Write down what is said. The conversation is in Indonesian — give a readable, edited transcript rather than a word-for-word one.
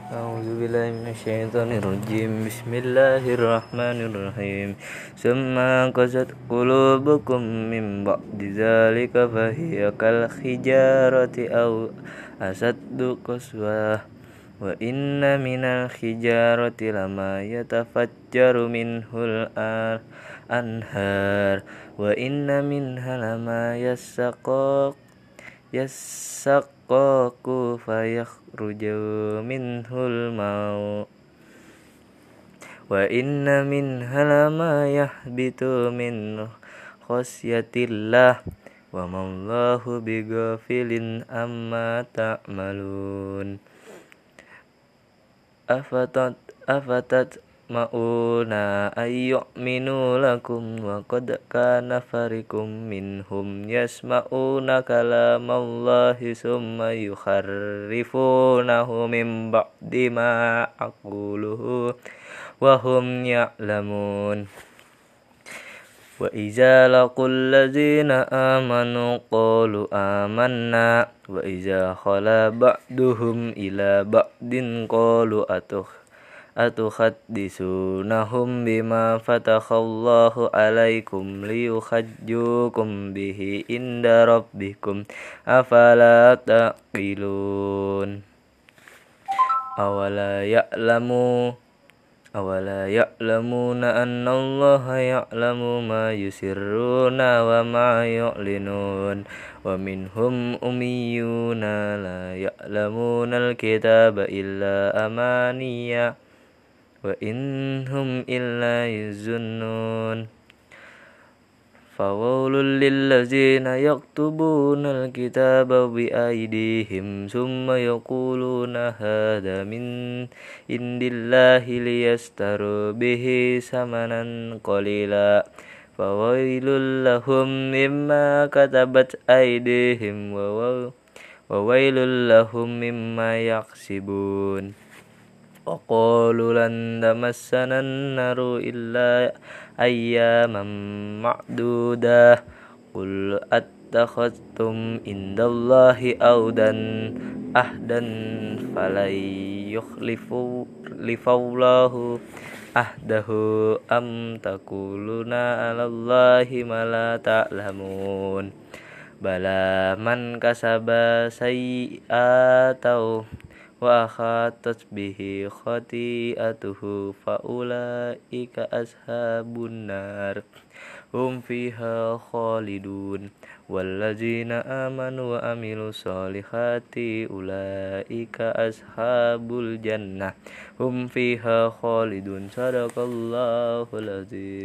A'udzubillahiminasyaitonirrajim. Bismillahirrahmanirrahim. Summa qasat qulubukum min ba'di dzalika fahiya kal hijarati aw asaddu qaswah. Wa inna minal hijarati lama yatafajjaru minhul anhar. Wa inna minha lama yasaqqaku fayakhruju minhul mau. Wa inna minha lama yahbitu min khasyatillah wa mallahu bighafilin amma ta'malun. Afatat ma'una ayyu'minu lakum wa qad kana fariqum minhum yasma'una kalamallahi summa yukharrifunahu min ba'di ma aquluhu wa hum ya'lamun. Wa iza laqul ladzina amanu qalu amanna wa iza khala ba'duhum ila ba'din qalu atuhadditsunahum bima fatakhallahu alaikum liyuhajjukum bihi inda rabbikum afala taqilun. Awala ya'lamuna anna Allaha ya'lamu ma yusirruna wa ma yu'linun. Wa minhum ummiyuna la ya'lamuna al-kitaba illa amaniya wa innahum illa yazunnun. Fawailul lillazina yaktubuna al-kitaba bi aydihim summa yaquluna hadza min indillahi liyastaru bihi samanan qalila. Fawailul lahum mimma katabat aydihim wa wailul lahum mimma yaksibun. Wa qalu lan tamassana an-naru illa ayyaman ma'dudah. Qul attakhadtum indallahi ahdan falan yukhlifallahu ahdahu am taquluna 'alallahi ma la ta'lamun. Bala man kasaba sayyi'atan wa khatat bihi khati'atuhu fa ulaika ashabun nar hum fiha khalidun. Wallazina amanu wa amilus solihati ulaika ashabul jannah hum fiha khalidun. Shadaqallahul azim.